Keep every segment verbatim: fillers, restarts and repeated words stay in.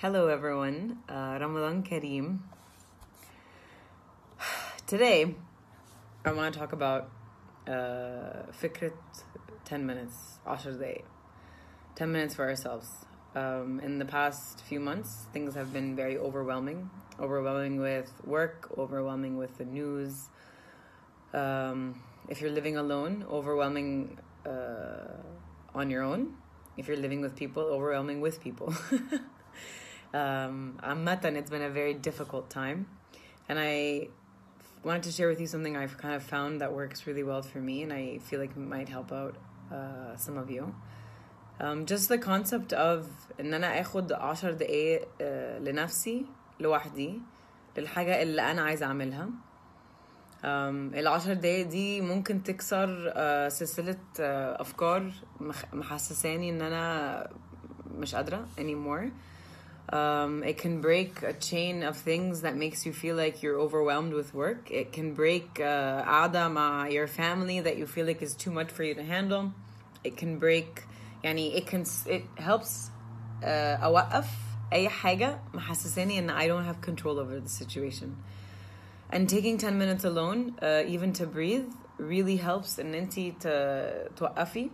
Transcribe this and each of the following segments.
Hello everyone, uh, Ramadan Kareem. Today, I want to talk about uh, فكرة ten minutes, عشر دقايق. ten minutes for ourselves. Um, in the past few months, things have been very overwhelming. Overwhelming with work, overwhelming with the news. Um, if you're living alone, overwhelming uh, on your own. If you're living with people, overwhelming with people. um, عامةً, it's been a very difficult time. And I wanted to share with you something I've kind of found that works really well for me, and I feel like it might help out uh, some of you. Um, just the concept of إن أنا أخد عشر دقايق uh, لنفسي لوحدي للحاجة اللي أنا عايزة أعملها. um, العشر دقايق دي ممكن تكسر uh, سلسلة uh, أفكار مخ- محسساني إن أنا مش قادرة anymore. Um, it can break a chain of things that makes you feel like you're overwhelmed with work. It can break uh, قعدة مع your family that you feel like is too much for you to handle. It can break يعني it can it helps uh, أوقف أي حاجة محسساني إن I don't have control over the situation. And taking ten minutes alone, uh, even to breathe, really helps إن أنتي ت- توقفي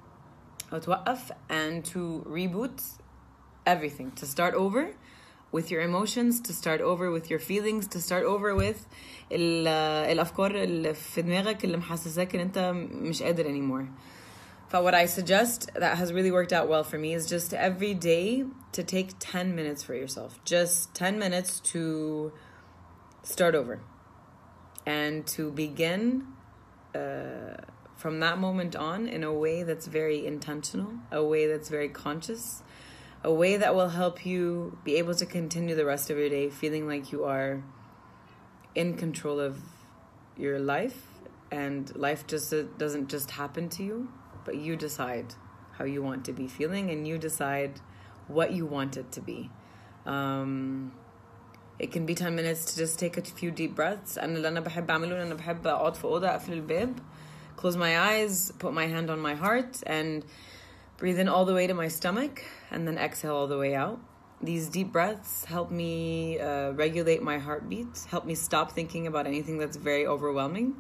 أو توقف and to reboot everything, to start over with your emotions, to start over with your feelings, to start over with ال, الأفكار اللي في دماغك اللي محسساك إن أنت مش قادر anymore. So what I suggest that has really worked out well for me is just every day to take ten minutes for yourself. Just ten minutes to start over and to begin uh, from that moment on in a way that's very intentional, a way that's very conscious, a way that will help you be able to continue the rest of your day feeling like you are in control of your life, and life just uh, doesn't just happen to you, but you decide how you want to be feeling, and you decide what you want it to be. Um, it can be ten minutes to just take a few deep breaths. أنا اللي أنا بحب أعمله أنا بحب أقعد في أوضة أقفل الباب, close my eyes, put my hand on my heart, and breathe in all the way to my stomach, and then exhale all the way out. These deep breaths help me uh, regulate my heartbeat, help me stop thinking about anything that's very overwhelming.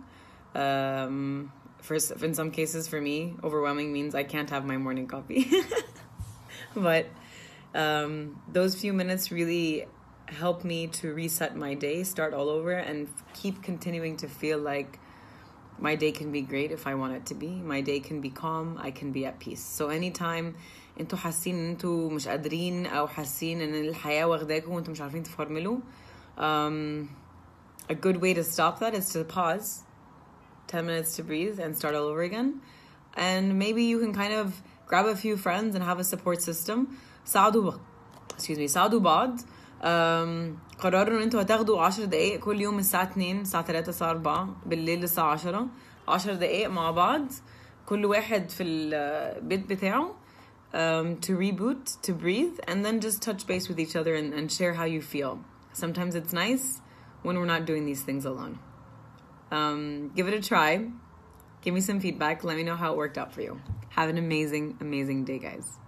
Um, for, in some cases, for me, overwhelming means I can't have my morning coffee. But um, those few minutes really help me to reset my day, start all over, and keep continuing to feel like my day can be great if I want it to be. My day can be calm. I can be at peace. So anytime انتوا حاسين ان انتوا مش قادرين او حاسين ان الحياة واخداكم وانتوا مش عارفين تفرملوا, um, a good way to stop that is to pause, ten minutes to breathe and start all over again. And maybe you can kind of grab a few friends and have a support system. ساعدوا بعض. excuse me ساعدوا بعض. Um, قرروا ان انتوا هتاخدوا عشر دقايق كل يوم الساعة اتنين الساعة تلاتة الساعة أربعة بالليل الساعة عشرة عشر دقايق مع بعض كل واحد في البيت بتاعه, um, to reboot, to breathe, and then just touch base with each other and, and share how you feel. Sometimes it's nice when we're not doing these things alone. Um, give it a try. Give me some feedback. Let me know how it worked out for you. Have an amazing, amazing day, guys.